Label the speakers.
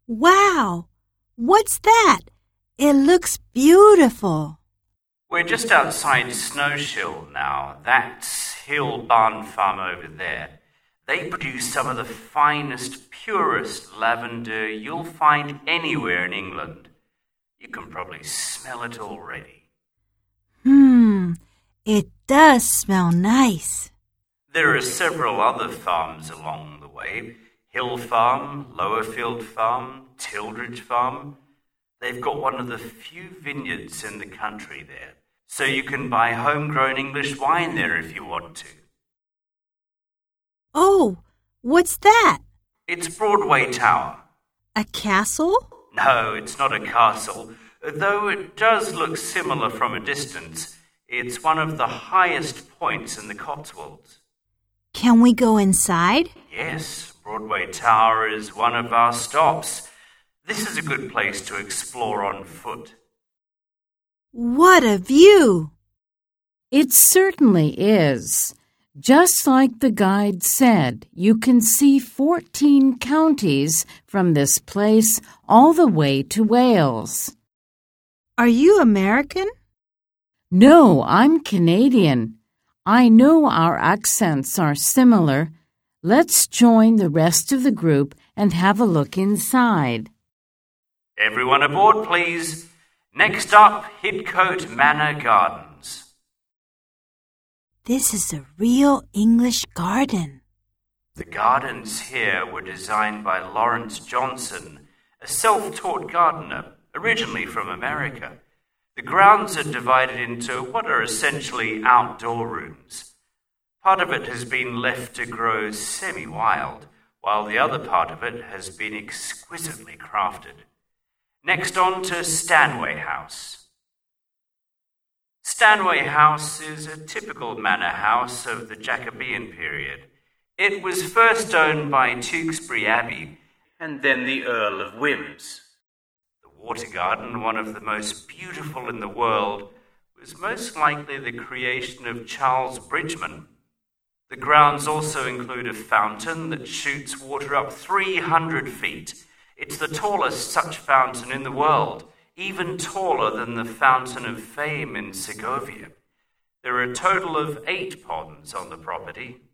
Speaker 1: Wow! What's that? It looks beautiful.
Speaker 2: We're just outside Snowshill now. That's Hill Barn Farm over there. They produce some of the finest, purest lavender you'll find anywhere in England. You can probably smell it already.
Speaker 1: It does smell nice.
Speaker 2: There are several other farms along the way. Hill Farm, Lowerfield Farm, Tildridge Farm. They've got one of the few vineyards in the country there, so you can buy homegrown English wine there if you want to.
Speaker 1: Oh, what's that?
Speaker 2: It's Broadway Tower.
Speaker 1: A castle?
Speaker 2: No, it's not a castle, though it does look similar from a distance. It's one of the highest points in the Cotswolds.
Speaker 1: Can we go inside?
Speaker 2: Yes, Broadway Tower is one of our stops. This is a good place to explore on foot.
Speaker 1: What a view!
Speaker 3: It certainly is. Just like the guide said, you can see 14 counties from this place all the way to Wales.
Speaker 1: Are you American?
Speaker 3: No, I'm Canadian. I know our accents are similar. Let's join the rest of the group and have a look inside.
Speaker 2: Everyone aboard, please. Next up, Hidcote Manor Gardens.
Speaker 1: This is a real English garden.
Speaker 2: The gardens here were designed by Lawrence Johnson, a self-taught gardener, originally from America. The grounds are divided into what are essentially outdoor rooms. Part of it has been left to grow semi-wild, while the other part of it has been exquisitely crafted. Next on to Stanway House. Stanway House is a typical manor house of the Jacobean period. It was first owned by Tewkesbury Abbey and then the Earl of Wemyss. The Water Garden, one of the most beautiful in the world, was most likely the creation of Charles Bridgeman. The grounds also include a fountain that shoots water up 300 feet. It's the tallest such fountain in the world, even taller than the Fountain of Fame in Segovia. There are a total of 8 ponds on the property.